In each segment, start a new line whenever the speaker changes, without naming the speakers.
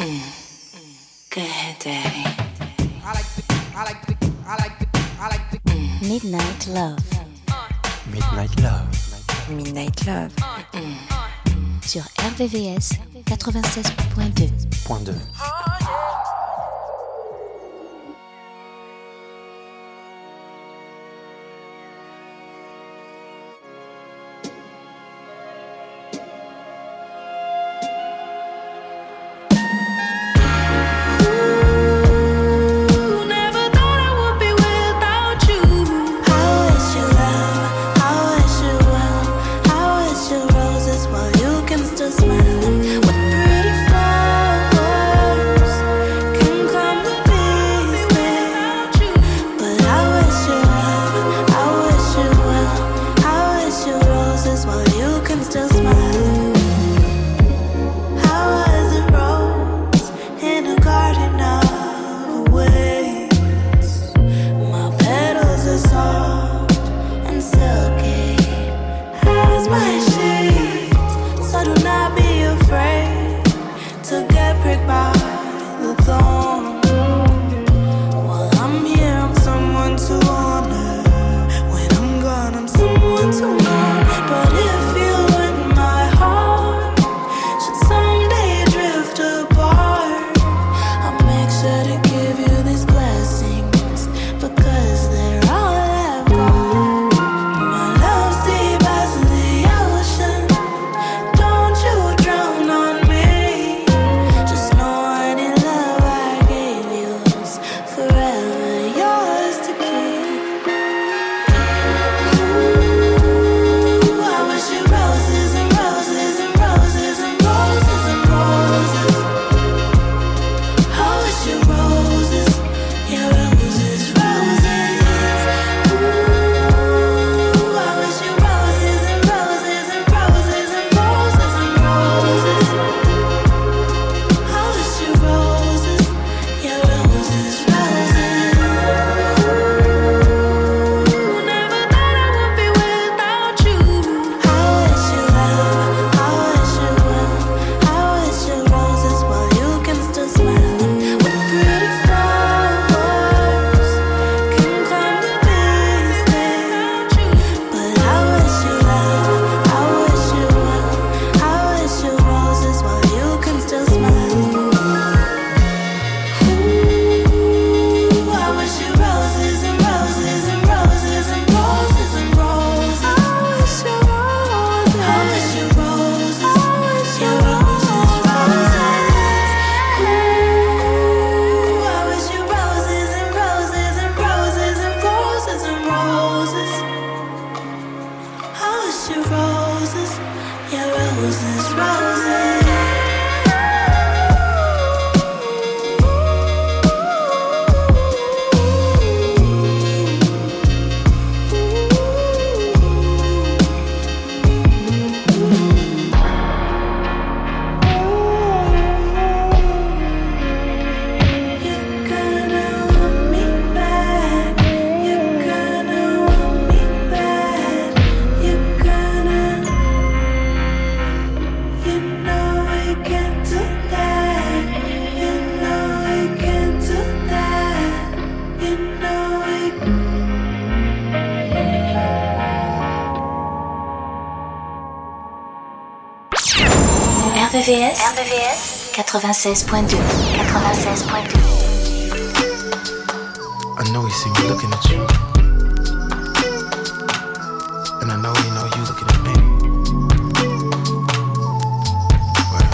Go ahead, Daddy.
Midnight Love.
Midnight Love.
Midnight Love.
Sur RVVS 96.2.
Point 2.
RVVS 96.2.
I know he see me looking at you, and I know you looking at me. Well,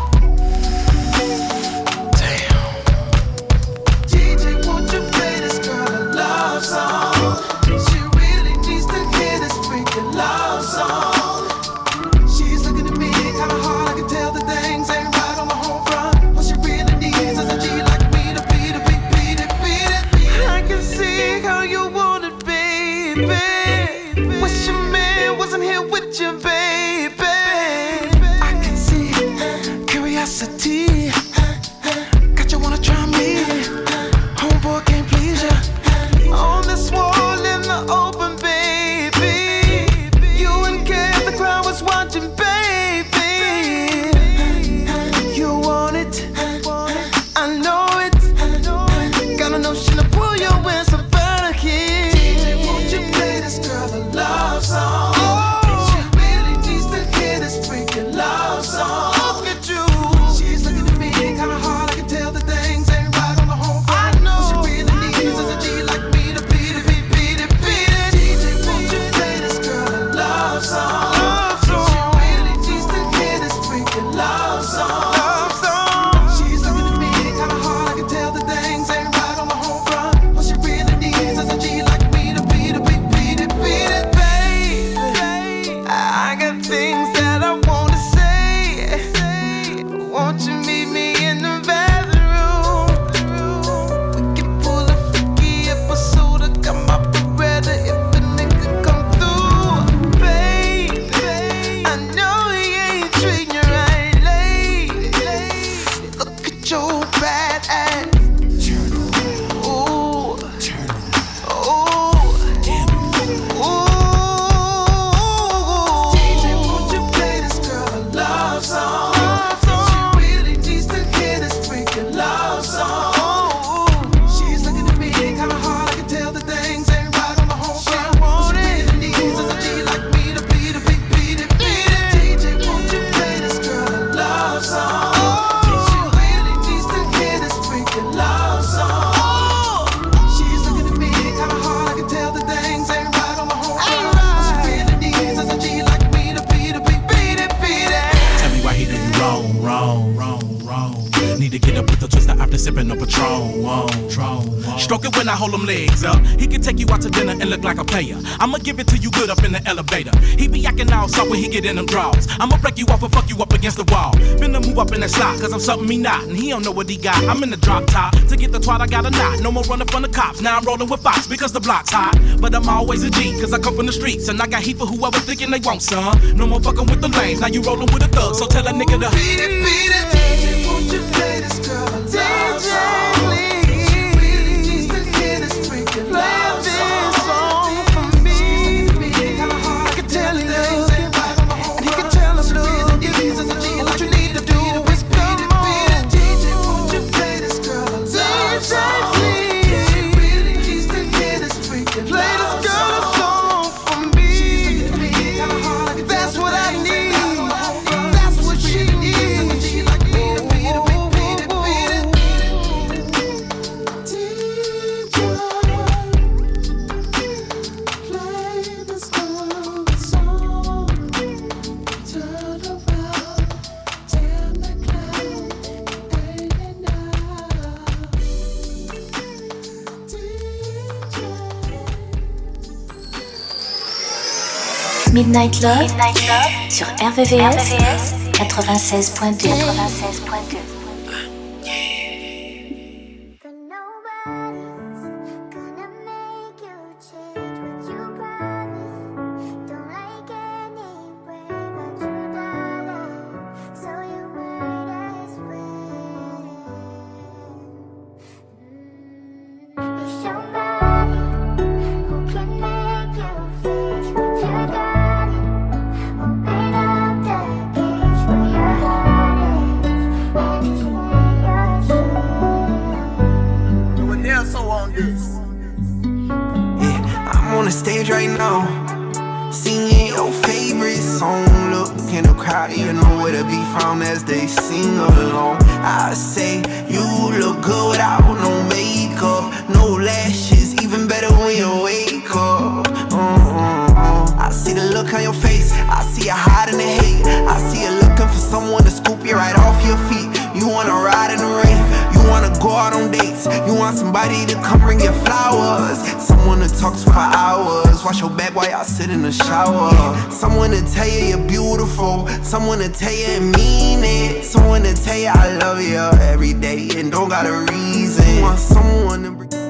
damn. DJ, won't you play this kind of love song? She really needs to hear this freaking love song. She's looking at me kinda hard, I can tell the things ain't right on the home front. What she really needs is a G like me to beat it. I can see how you want it, baby. Wish your man wasn't here with you, baby. I can see curiosity. Got you wanna try me. Homeboy can't please ya. On this wall in the open, baby. You and Kev, the crowd was watching, baby. You want it. with your bad ass. Turn around. Ooh. Turn around. Ooh. Damn it. Ooh. DJ, won't you play this girl a love song? She really needs to hear this freaking love song. She's looking at me kinda hard, I can tell the things ain't right on the whole front. She really needs a G like me to beat it, beat it. DJ, won't you play this girl a love song? She really needs to hear this freaking love song. She's looking at me kinda hard, I can tell the things ain't right on the whole front. She really needs a G like me to beat it, beat it.
Tell me why he do you wrong. Need to get up with the twister after sipping a Patron. Stroke it when I hold them legs up. He can take you out to dinner and look like a player. I'ma give it to you good up in the elevator. He be acting all soft when he get in them draws. I'ma break you off and fuck you up against the wall. Finna move up in that slot, cause I'm something he not. And he don't know what he got. I'm in the drop top. To get the twat I got a knot. No more running from the cops. Now I'm rolling with Fox because the block's hot. But I'm always a G, cause I come from the streets. And I got heat for whoever thinking they want some. No more fucking with the lanes. Now you rolling with a thug. So tell a nigga to
beat it. DJ, won't you play this girl a love song? She really needs to hear this freaking love song from me. Kinda hard, I can tell he look, and he can tell I'm look. What you need to do is beat it. DJ, won't you play this girl a love song? She really needs to hear this freaking love song from me. Kinda hard, I can that's what I need. That's what she needs.
Midnight Love sur RVVS 96.2.
Stage right now, singing your favorite song. Look in the crowd, you know where to be found as they sing along. I say you look good without no makeup, no lashes, even better when you wake up. I see the look on your face, I see you hiding the hate. I see you looking for someone to scoop you right off your feet. You wanna ride in the rain, you wanna go out on dates, you want somebody to come bring you flowers, someone to talk to for hours, wash your back while y'all sit in the shower, someone to tell you you're beautiful, someone to tell you and mean it, someone to tell you I love you every day and don't got a reason. You want someone to bring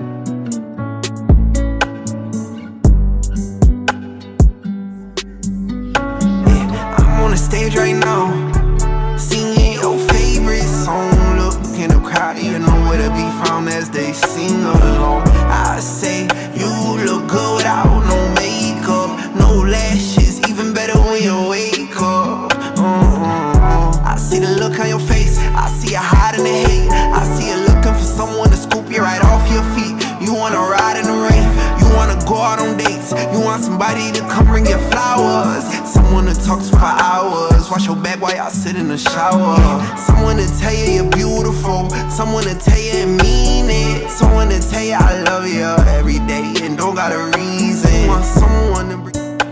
I'm on the stage right now, singing your favorite song. Look in the crowd, you know where to be found as they sing along. I say you look good without no makeup, no lashes, even better when you wake up. I see the look on your face, I see you hiding the hate. I see you looking for someone to scoop you right off your feet. You wanna ride in the rain, you wanna go out on dates, you want somebody to come bring you flowers, someone to talk to for hours, wash your back while y'all sit in the shower, someone to tell you you're beautiful, someone to tell you and mean it, someone to tell you I love you every day and don't got a reason. You want someone to bring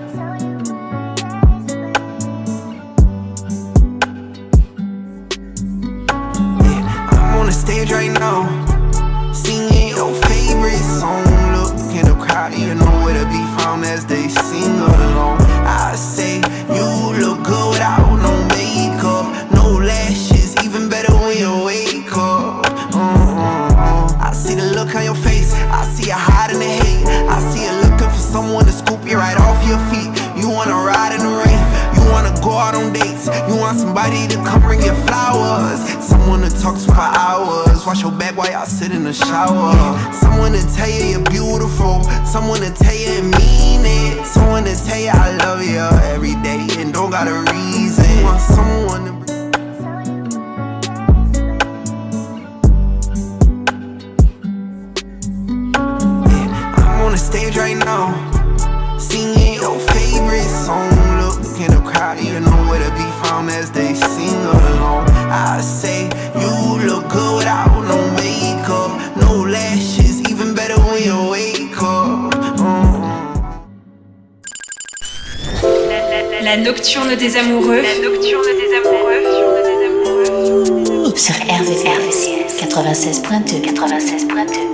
I'm on the stage right now, singing your favorite song. Look in the crowd, you know where to be found as they sing along. I say you look good without no makeup, no lashes, even better when you wake up. I see the look on your face, I see you hiding the hate. I see you looking for someone to scoop you right off your feet. You wanna ride in the rain, you wanna go out on dates, you want somebody to come bring you flowers, someone to talk to for hours. Wash your back while y'all sit in the shower. Someone to tell you you're beautiful. Someone to tell you and mean it. Someone to tell you I love you every day and don't got a reason. You want someone to on the stage right now, singing your favorite song. Look in the crowd, you know where to be found as they sing along. I say you look good without no makeup, no lashes, even better when you wake up.
La nocturne des amoureux. La nocturne des amoureux.
Sur RVVS 96.2. 96.2.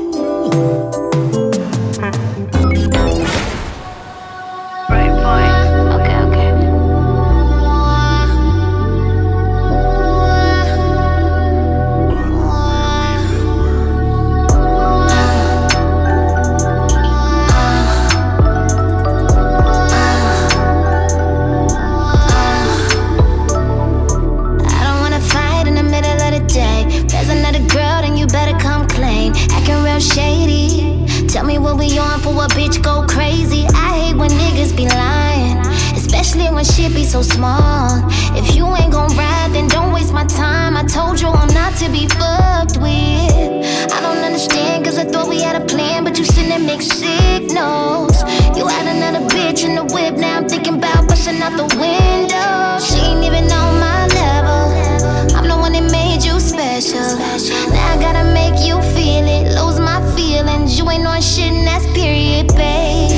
So small. If you ain't gon' ride, then don't waste my time. I told you I'm not to be fucked with. I don't understand, cause I thought we had a plan, but you sending mixed signals. You had another bitch in the whip, now I'm thinking about busting out the window. She ain't even on my level. I'm the one that made you special. Now I gotta make you feel it, lose my feelings. You ain't on shit and that's period, babe.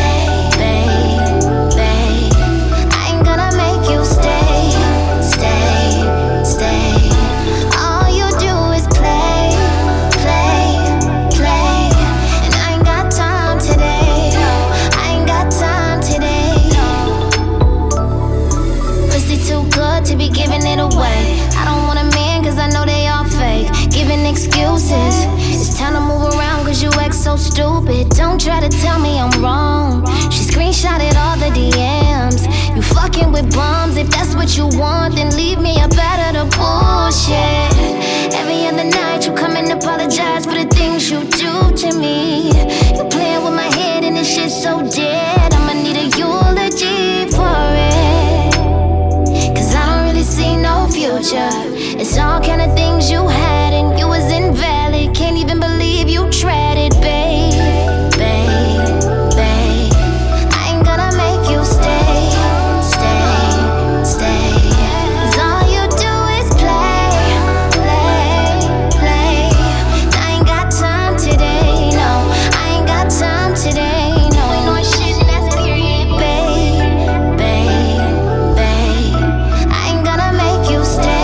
Excuses. It's time to move around cause you act so stupid. Don't try to tell me I'm wrong. She screenshotted all the DMs. You fucking with bums. If that's what you want, then leave me up out of the bullshit. Every other night you come and apologize for the things you do to me. You playing with my head and this shit's so dead. I'ma need a eulogy for it. Cause I don't really see no future. It's all kind of things you had and you was invalid. Can't even believe you tried it, babe. Babe, babe. I ain't gonna make you stay, stay, stay. Cause all you do is play, play, play. I ain't got time today, no. I ain't got time today, no. Ain't no shit, that's period, babe, babe, babe. I ain't gonna make you stay.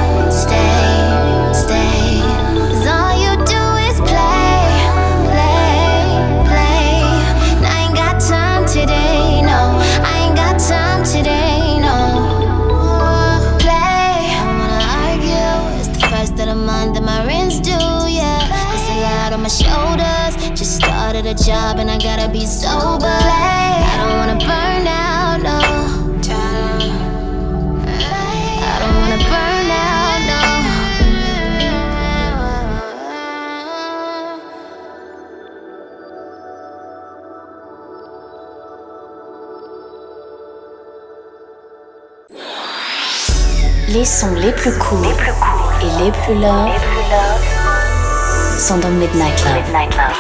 A job and I gotta be sober. I don't wanna burn out, no. I don't wanna burn out,
no. Les sons les plus courts et les plus love sont dans Midnight Love.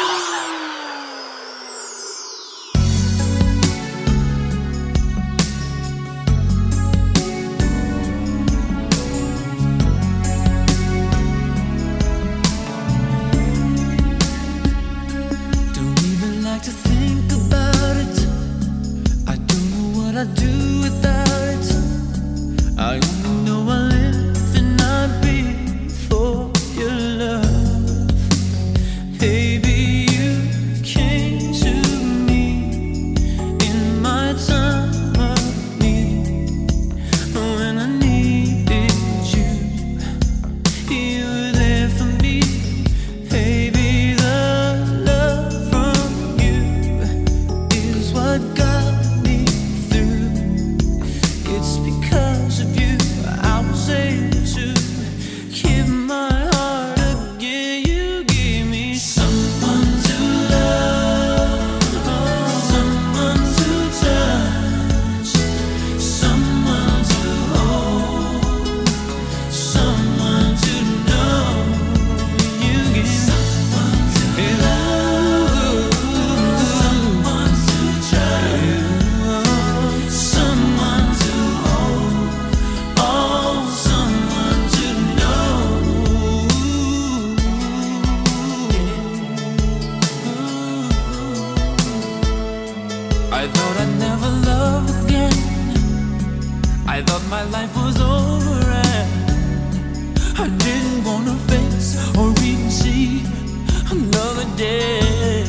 It's because of you I was able to keep my
my life was over and I didn't wanna face or even see another day.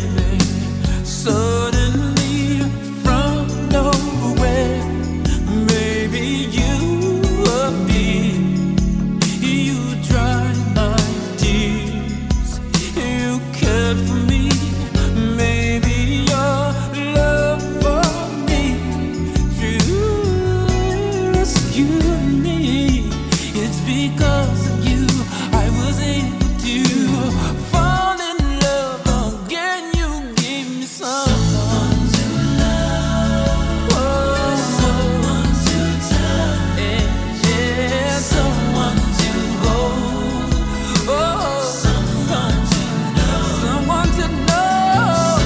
Suddenly from nowhere, maybe you appeared. You dried my tears. You cared for me. Maybe your love for me rescued me. It's because of you I was able to fall in love again. You gave me someone to love, someone to touch, yeah, someone to hold, someone to know, someone to know.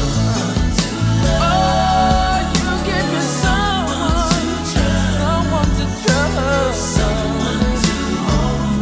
Oh, you gave me someone to trust, someone to hold,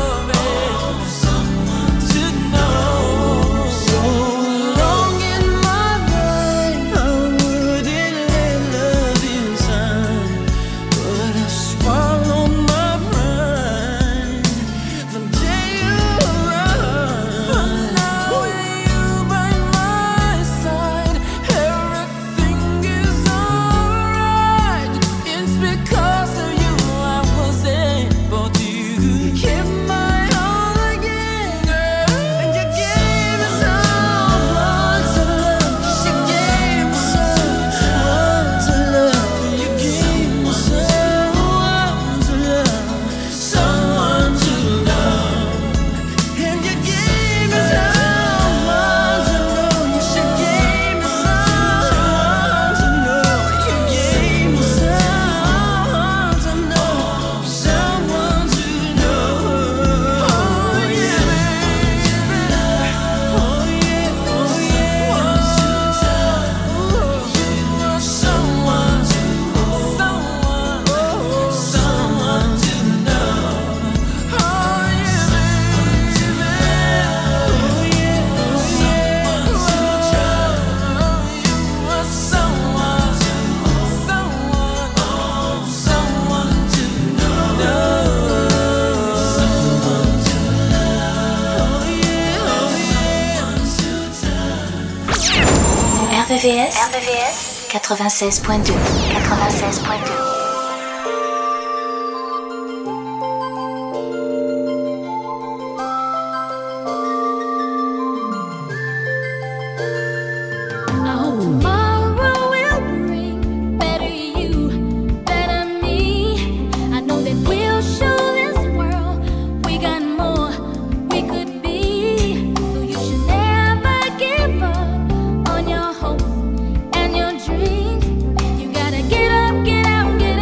someone to know. So long in my life, I wouldn't let love inside, but I swallowed my pride the day you arrived. But now with you by my side, everything is alright. It's because of you I was able to keep my all again, girl. And you gave me someone to love. She gave me someone to love. You gave me someone to love, someone to love. And you gave me someone to know. She gave me someone to know. You gave me someone to know, someone to know. Oh yeah, baby. Oh yeah, oh yeah. You are someone to hold, someone to know. Oh yeah, baby. Oh yeah, oh yeah. You are someone to hold, someone to know. Someone to love. Oh yeah, oh yeah.
RVVS 96.2 96.2.
I hope tomorrow will bring better you, better me. I know that we'll show this world we got more we could be. So you should never give up on your hopes and your dreams. You gotta get up, get out, get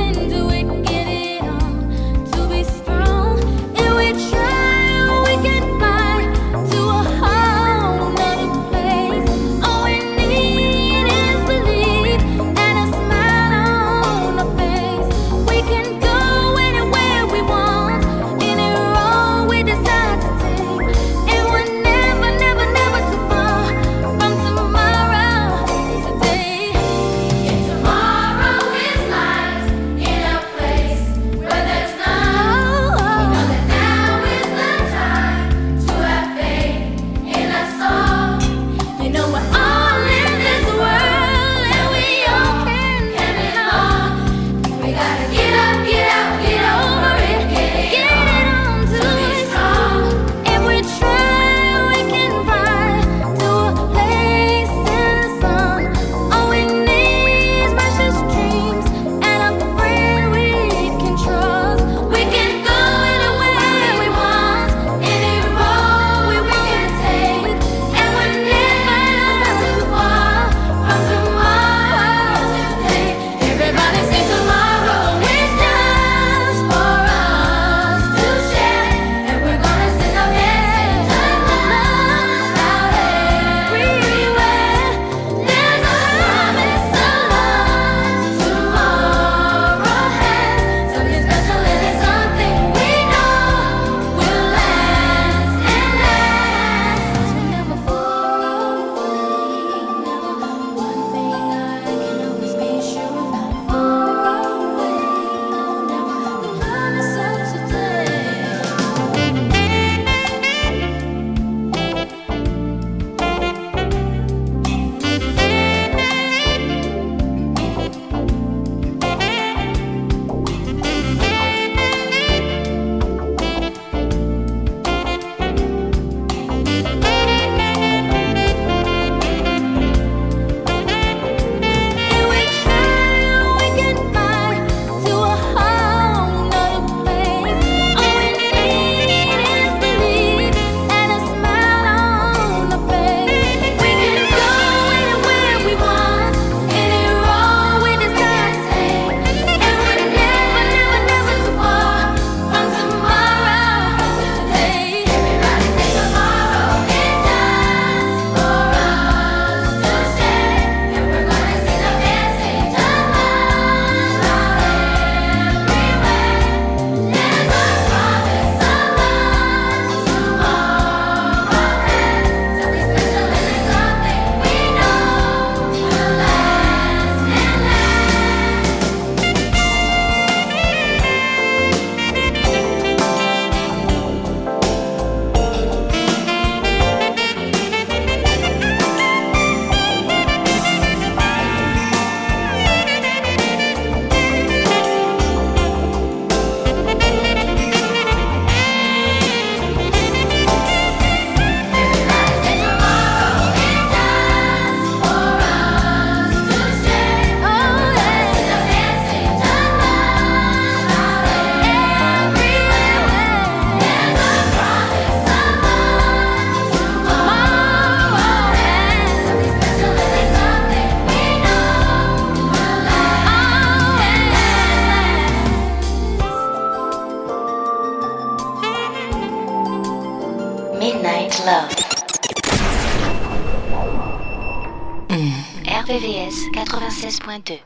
Midnight Love. RVVS 96.2.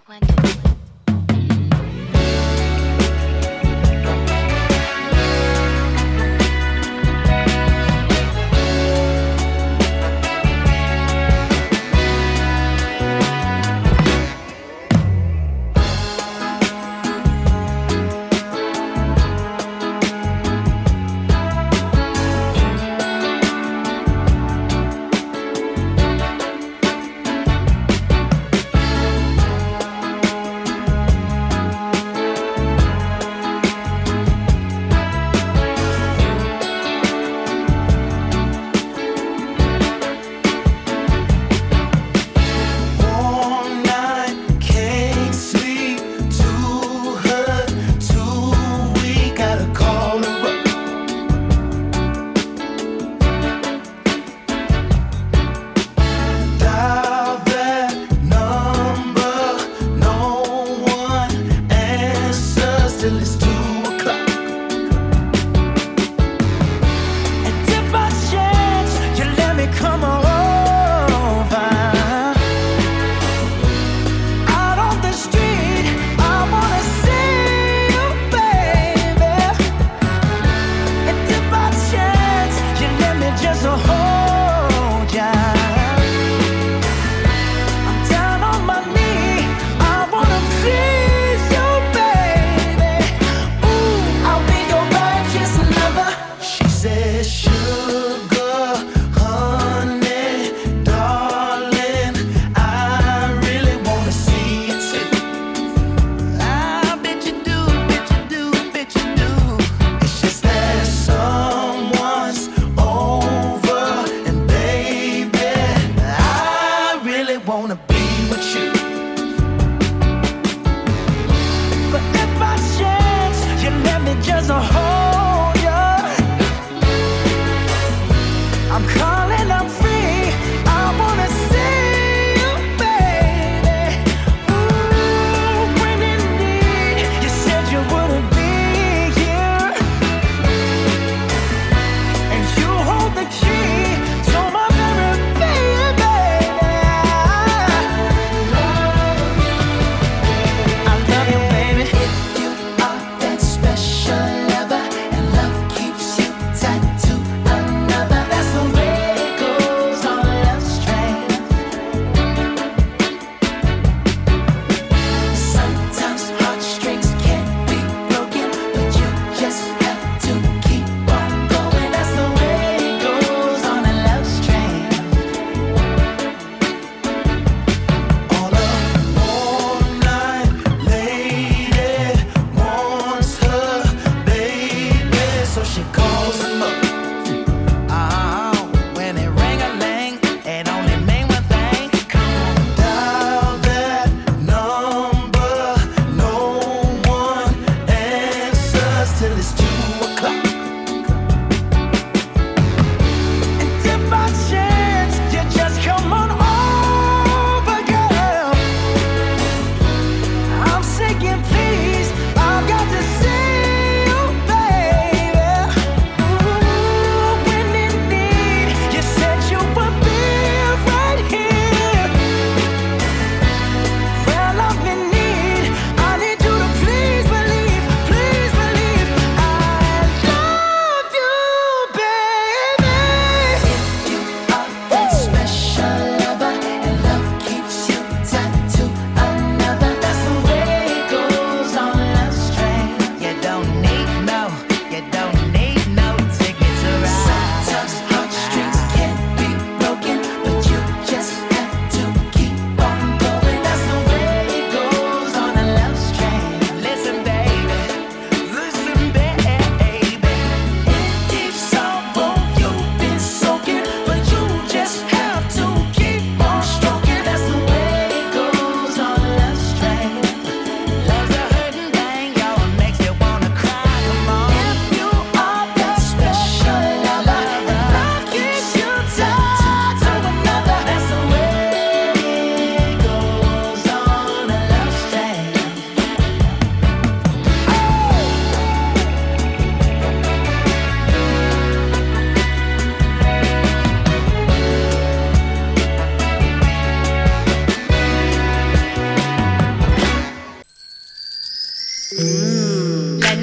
Just hold you.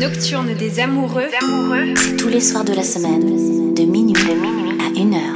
nocturne des amoureux.
C'est tous les soirs de la semaine, de minuit à 1h.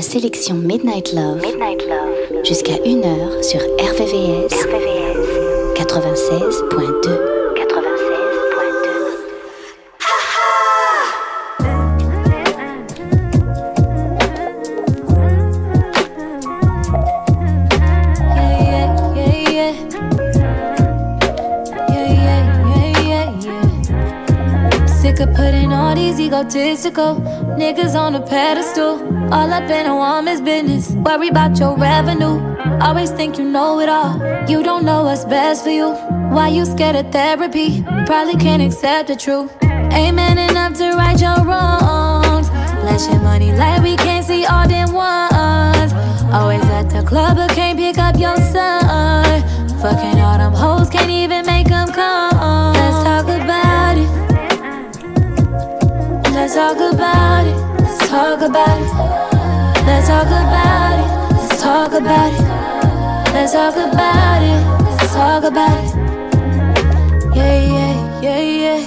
sélection Midnight Love, jusqu'à 1h sur RVVS 96.2.
Putting all these egotistical niggas on a pedestal. All up in a woman's business. Worry about your revenue. Always think you know it all. You don't know what's best for you. Why you scared of therapy? Probably can't accept the truth. Ain't man enough to right your wrongs. Flashing money like we can't see all them ones. Always at the club but can't pick up your son. Fucking all them hoes, can't even make them come. Let's talk about it. Let's talk about it. Let's talk about it. Let's talk about it. Let's talk about it. Let's talk about it. Let's talk about it. Yeah, yeah, yeah, yeah.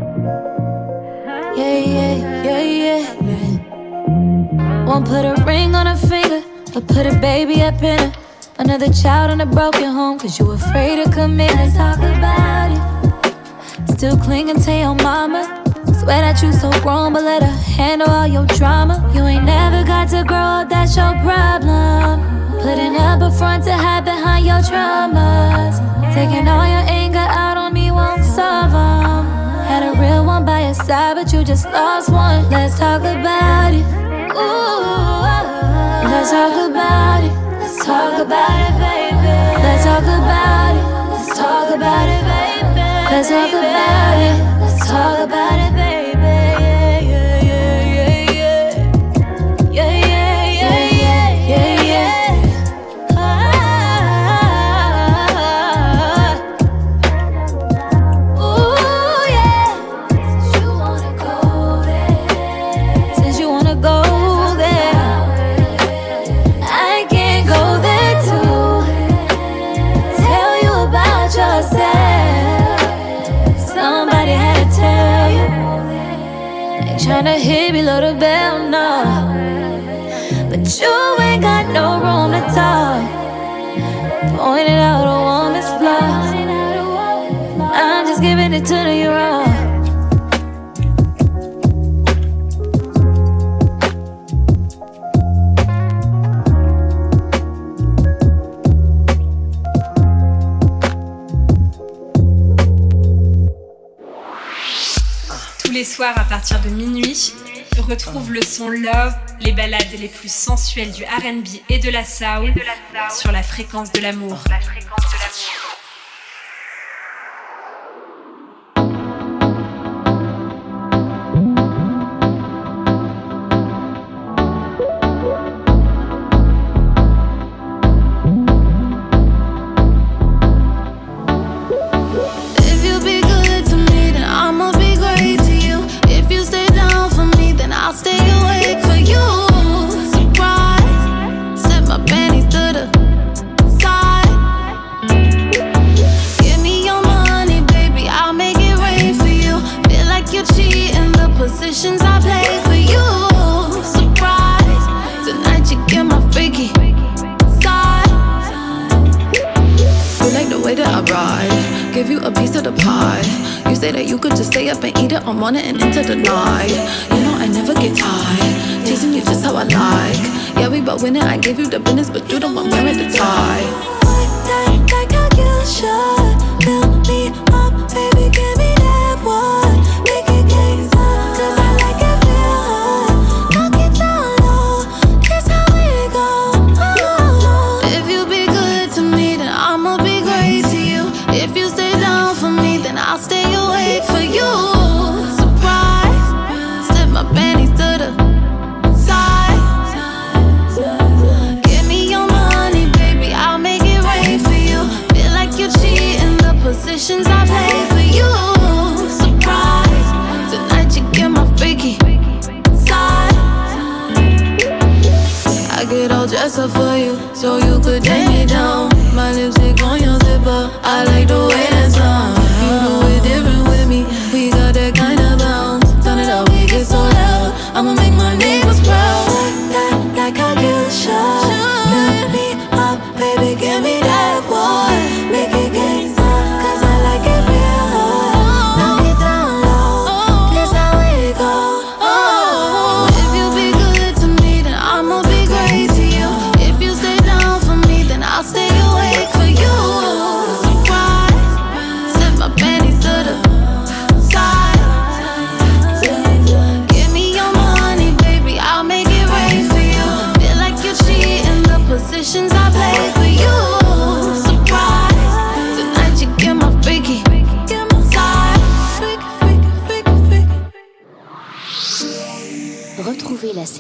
Yeah, yeah, yeah, yeah, yeah. Won't put a ring on her finger, but put a baby up in her. Another child in a broken home, cause you afraid to commit. Let's talk about it. Still clinging to your mama. Swear that you so grown, but let her handle all your drama. You ain't never got to grow up, that's your problem. Putting up a front to hide behind your traumas. Taking all your anger out on me won't solve them. Had a real one by your side, but you just lost one. Let's talk about it. Ooh, let's talk about it. Let's talk about it, baby. Let's talk about it. Let's talk about it, baby. Let's talk about it. Let's talk about it, baby. Tryna hit below the bell, no. But you ain't got no room to talk. Pointing out a woman's flaws. I'm just giving it to you raw.
Tous les soirs à partir de minuit, retrouve le son Love, les ballades les plus sensuelles du R&B et de la soul sur la fréquence de l'amour.
Positions I play for you. Surprise, tonight you get my freaky side.
You like the way that I ride, give you a piece of the pie. You say that you could just stay up and eat it all morning and into the night. You know I never get tired, teasing you just how I like. Yeah, we both winning, I gave you the business, but you the one wearing the tie.
Like how you should, fill me up, baby, give me that one. Make it games up.
I'll stay awake for you. Surprise, slip my panties to the side. Give me your money, baby, I'll make it rain for you. Feel like you're cheating, the positions I play for you. Surprise, tonight you get my freaky side. I get all dressed up for you, so you could take me down. My lipstick on your zipper, I like the way that sounds. You do it different with me, we got that kind of bounce. Turn it up, we get so loud, I'ma make my neighbors proud.
Like how you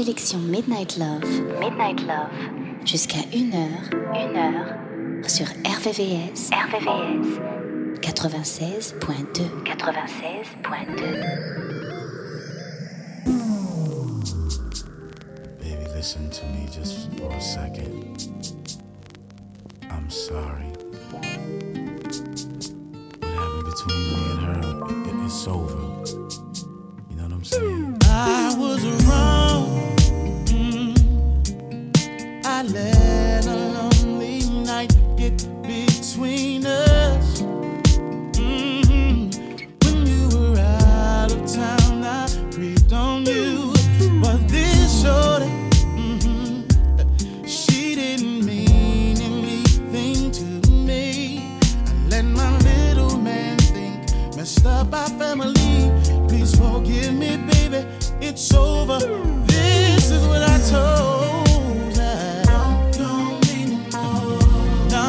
sélection Midnight Love. Midnight Love. Jusqu'à 1h. Sur RVVS. 96.2.
Baby, listen to me just for a second. I'm sorry. What happened between me and her, it's over. You know what I'm saying?
I was wrong. I let a lonely night get between us. When you were out of town, I creeped on you. But this shorty, she didn't mean anything to me. I let my little man think, messed up our family. Please forgive me, baby, it's over. This is what I told her. Don't need no more. No.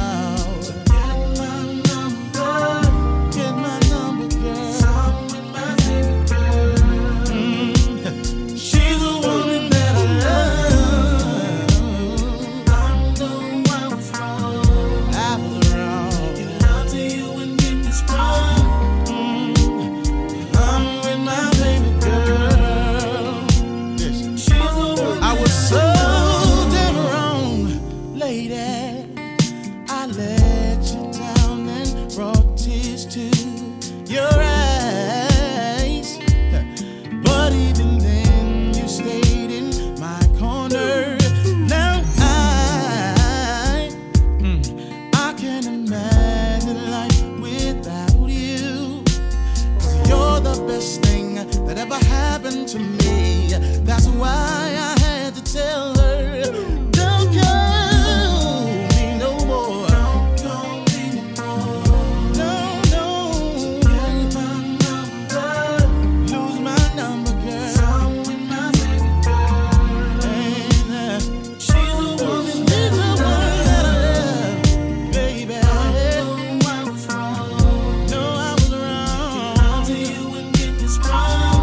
Get my number, girl. Song with my baby girl. She's the woman that I love. I know I was wrong. Give love to you and get me sprung. I'm with my baby girl. She's the one. I was so damn wrong, lady. I let you down and brought tears to your eyes. But even then, you stayed in my corner. Now I can't imagine life without you. 'Cause you're the best thing that ever happened to me. That's why I had to tell her, don't call me no more. Don't call me no more. No. Get my number. Lose my number, girl. Song with my baby girl. And she's the woman that I love, baby. I know I was wrong. No, I was wrong. I'll to you and get me sprung.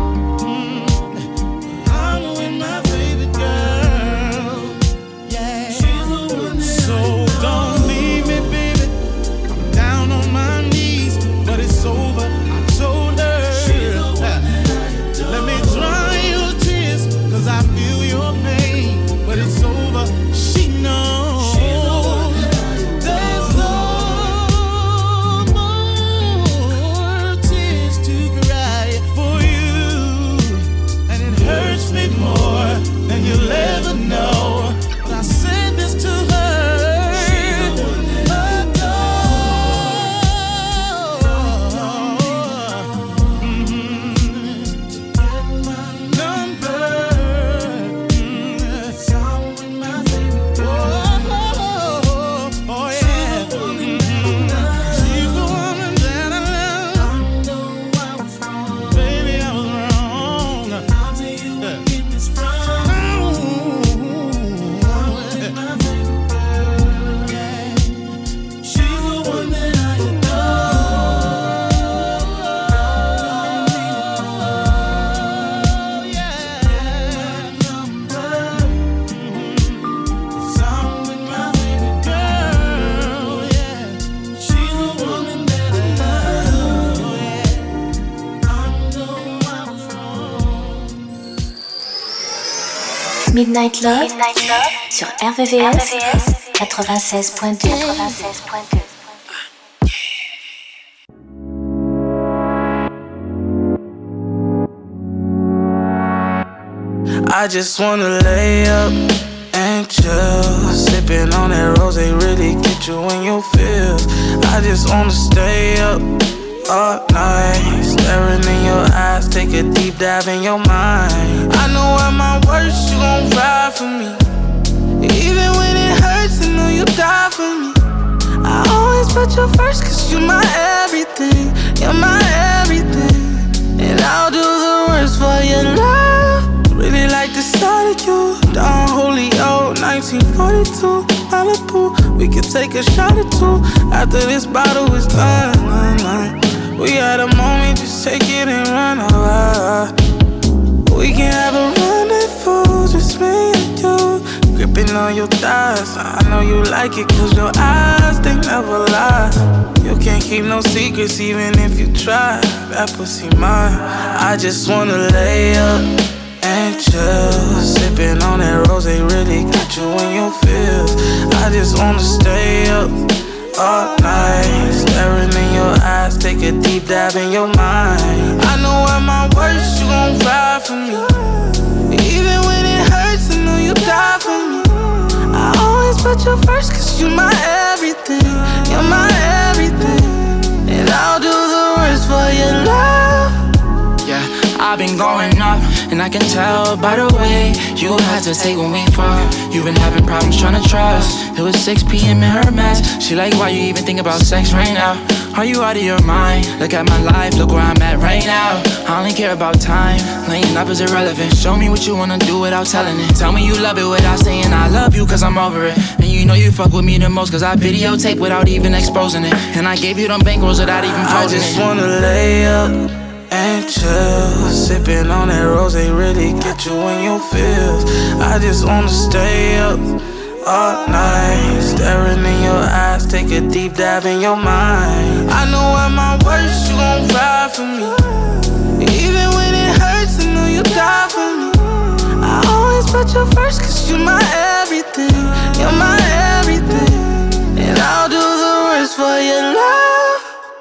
I'm with my baby girl. Yeah. She's the one that so don't leave me, baby. I'm down on my knees, but it's over. I told her. Let me dry your tears, 'cause I feel your pain, but it's over. She knows. There's no more tears to cry for you, and it hurts me more than you'll ever know. But I said this to her.
Midnight Love. Sur RVVS. 96.2.
I just wanna lay up and chill, sipping on that rose, they really get you in your feels. I just wanna stay up all night, staring in your eyes, take a deep dive in your mind. I know at my worst you gon' ride for me, even when it hurts, I know you die for me. I always put you first, 'cause you're my everything, you're my everything. And I'll do the worst for your love. Really like the sight of you, Don Julio, 1942, Malibu. We could take a shot or two after this bottle is done. We had a moment, just take it and run. We can have a run and beautiful, just me and you. Gripping on your thighs, I know you like it, cause your eyes, they never lie. You can't keep no secrets, even if you try. That pussy mine, I just wanna lay up and chill. Sipping on that rose, they really get you in your feels. I just wanna stay up all night, staring in your eyes, take a deep dive in your mind. I know at my worst, you gon' ride for me. Even when it hurts, I know you die for me. I always put you first, cause you're my everything. You're my everything. And I'll do the rest for your love.
Yeah, I've been going up, and I can tell by the way you hesitate when we fuck. You've been having problems trying to trust. It was 6 p.m. in her mess. She like, why you even think about sex right now? Are you out of your mind? Look at my life, look where I'm at right now. I only care about time, laying up is irrelevant. Show me what you wanna do without telling it. Tell me you love it without saying I love you, cause I'm over it. And you know you fuck with me the most, cause I videotape without even exposing it. And I gave you them bankrolls without even frozen it.
I just wanna lay up and chill. Sipping on that rose, they really get you in your feels. I just wanna stay up all night, staring in your eyes, take a deep dive in your mind. I know at my worst, you gon' ride for me. Even when it hurts, I know you die for me. I always put you first, cause you're my everything. You're my everything. And I'll do the rest for your love.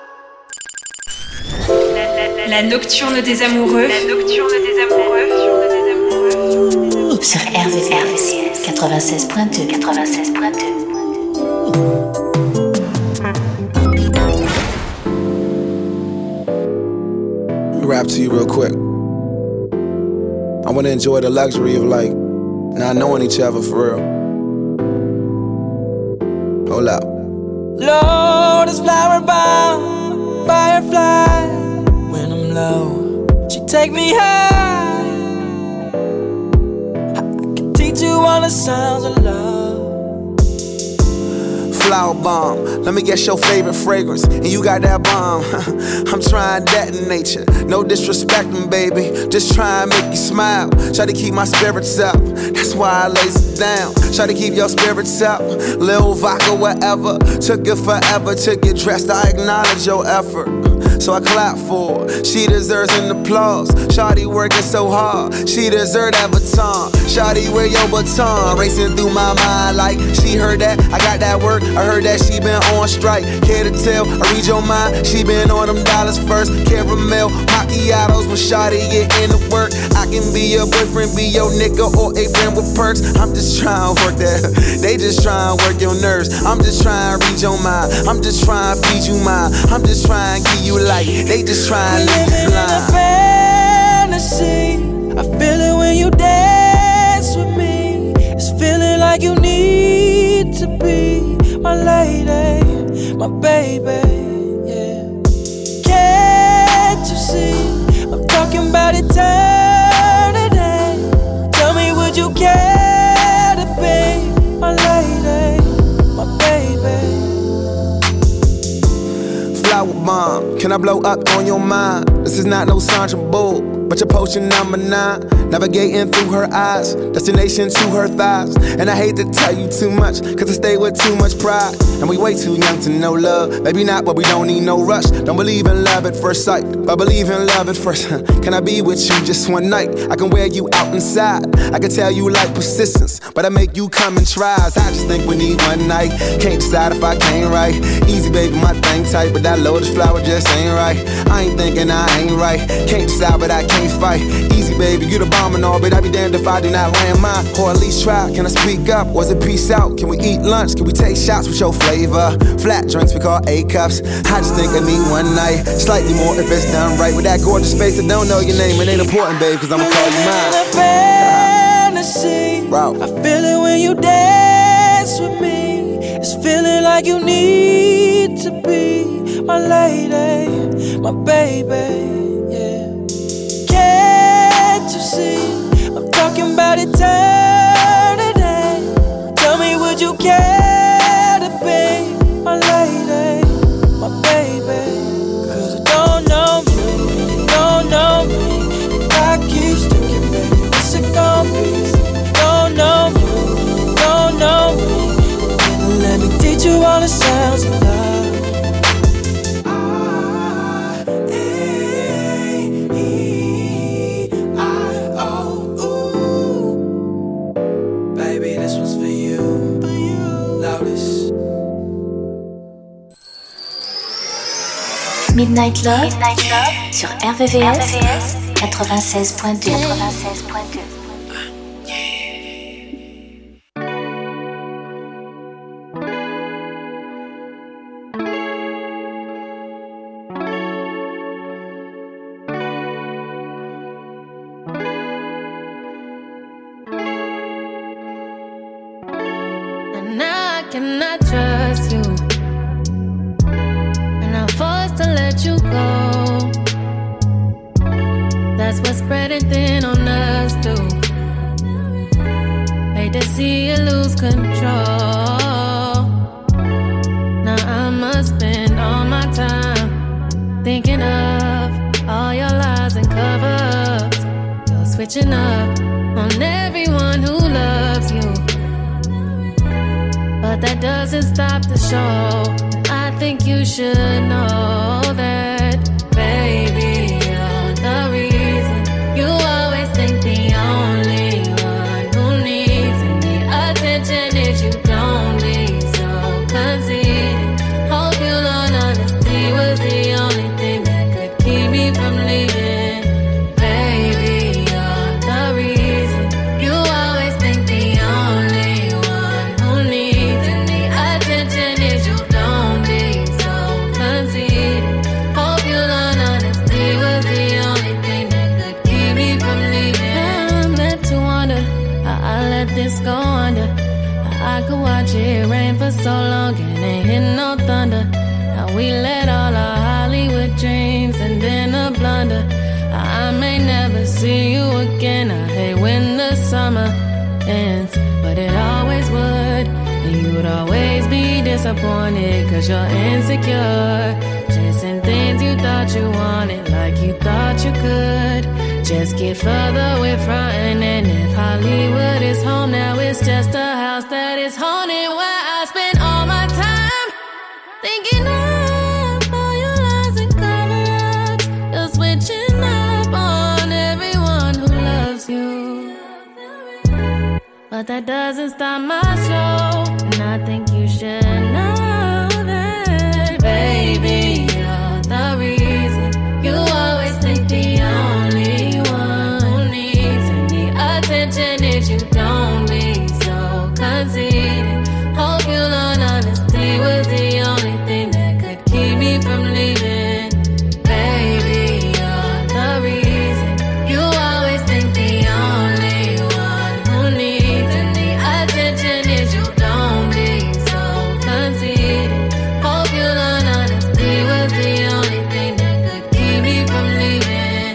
La nocturne des amoureux. La nocturne des amoureux.
Sur RVCS 96.2. 96.2.
Rap to you real quick. I wanna enjoy the luxury of like not knowing each other for real. Hold up.
Lotus flower bound, firefly. When I'm low, she take me high. I can teach you all the sounds of love.
Flower bomb, let me guess your favorite fragrance, and you got that bomb. I'm trying that in nature, no disrespecting, baby. Just try and make you smile. Try to keep my spirits up, that's why I lace it down. Try to keep your spirits up, Lil vodka, whatever. Took it forever to get dressed, I acknowledge your effort. So I clap for her, she deserves an applause. Shawty working so hard, she deserves that baton. Shawty, wear your baton, racing through my mind like she heard that, I got that work. I heard that she been on strike, care to tell, I read your mind. She been on them dollars first, caramel macchiatos when Shawty get into work. I can be your boyfriend, be your nigga, or a friend with perks. I'm just trying to work that, they just trying to work your nerves. I'm just trying to read your mind, I'm just trying to feed you mine. I'm just trying to give you light, they just trying to leave you blind.
In a fantasy, I feel it when you dance with me. It's feeling like you need to be my lady, my baby, yeah. Can't you see, I'm talking about eternity. Tell me, would you care to be my lady, my baby?
Flower bomb, can I blow up on your mind? This is not no Sandra Bull, but your potion number 9. Navigating through her eyes, destination to her thighs. And I hate to tell you too much, cause I stay with too much pride. And we way too young to know love, maybe not, but we don't need no rush. Don't believe in love at first sight, but believe in love at first. Can I be with you just one night? I can wear you out inside, I can tell you like persistence, but I make you come and try. I just think we need one night, can't decide if I can't right. Easy baby, my thing tight, but that lotus flower just ain't right. I ain't thinking I ain't right, can't decide but I can't fight. Easy baby, you the bomb and all, but I'd be damned if I do not land mine, or at least try. Can I speak up? Was it peace out? Can we eat lunch? Can we take shots with your flavor? Flat drinks we call A-cups. I just think I need one night, slightly more if it's done right. With that gorgeous face, I don't know your name, it ain't important, babe, cause I'ma call you mine.
In a fantasy, I feel it when you dance with me. It's feeling like you need to be my lady, my baby. Can't you see, I'm talking about eternity. Tell me, would you care to be my lady, my baby? Cause you don't know me, you don't know me. If I keep sticking, baby, what's it gonna be? teach you all the sounds of love. Baby, this one's for you. Loudest.
Midnight Love sur RVVS 96.2.
And I cannot trust you, and I'm forced to let you go. That's what's spreading thin on us too. Hate to see you lose control. Now I must spend all my time thinking of all your lies and cover-ups. You're switching up on everyone who loves you, but that doesn't stop the show. I think you should know that, baby, you're the reason. You always think the only one who needs any attention is you. Don't be so conceited. Hope you learn honesty was the only thing that could keep me from leaving. Baby, you're the reason. You always think the only one who needs any attention is you. Don't be so conceited. Hope you learn honesty was the only thing that could keep me from leaving. I'm meant to wonder how I let this go under. How I could watch it rain for so long and ain't hit no thunder. Now we let all our Hollywood dreams and then a blunder. I may never see you again. I hate when the summer ends, but it always would. And you'd always be disappointed, cause you're insecure. Chasing things you thought you wanted, like you thought you could. Just get further with frontin', and if Hollywood is home, now it's just a house that is haunted, where I spend all my time thinking of all your lies and cover-ups. You're switching up on everyone who loves you, but that doesn't stop my show. And I think you should know that, baby, you're the reason. You always think the only one who needs any attention is you. Don't be so conceited. Hope you learn honesty was the only thing that could keep me from leaving. Baby, you're the reason. You always think the only one who needs any attention is you. Don't be so conceited. Hope you learn honesty was the only thing that could keep me from leaving.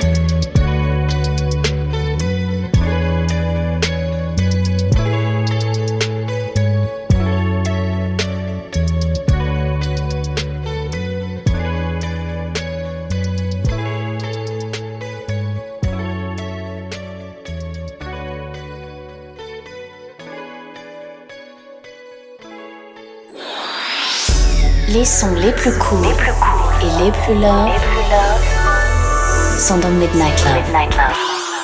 Les sons les plus courts et les plus love sont dans Midnight Love.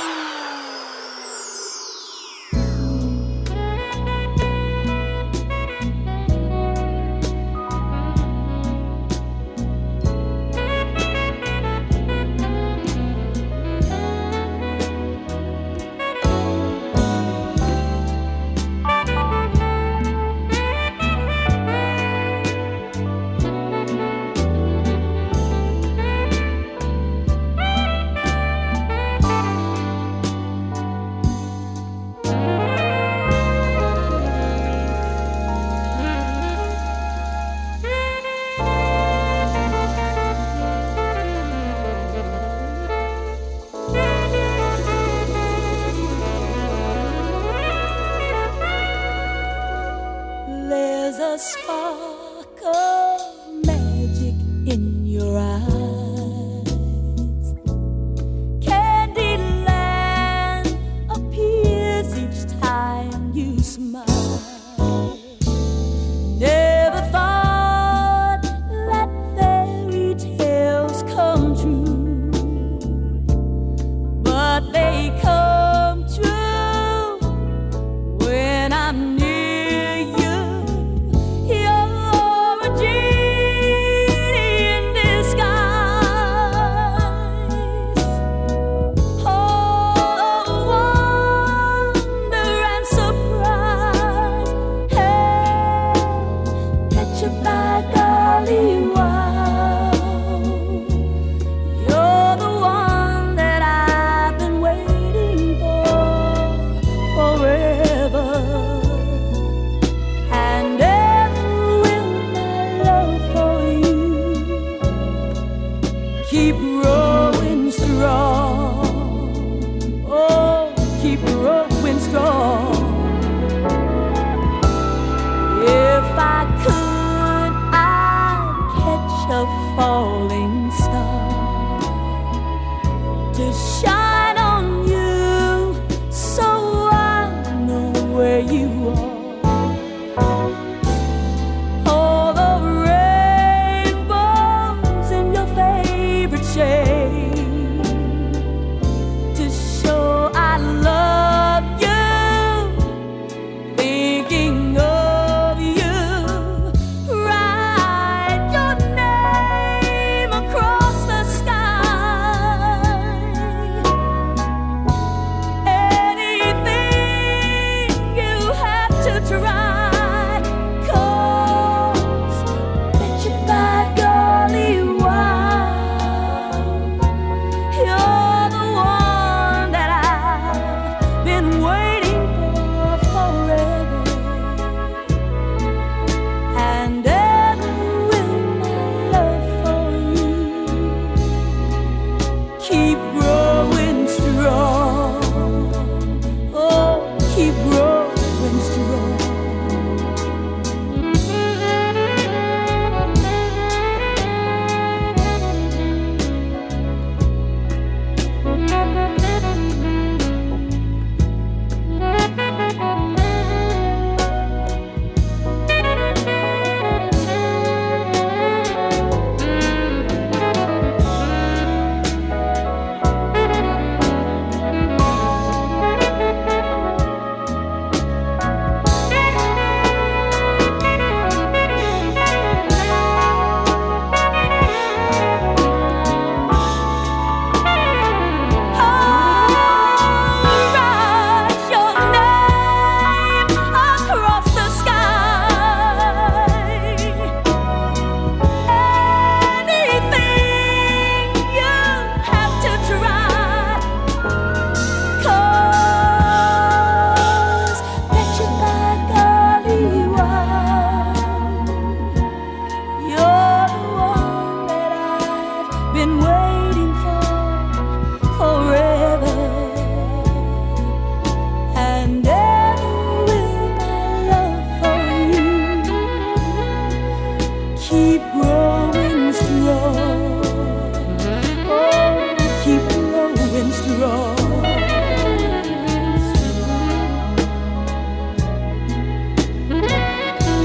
There's a spark of magic in your eyes. Candyland appears each time you smile. Never thought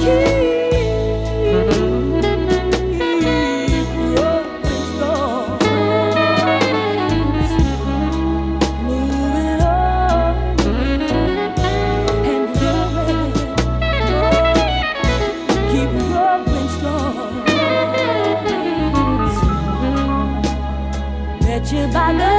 by the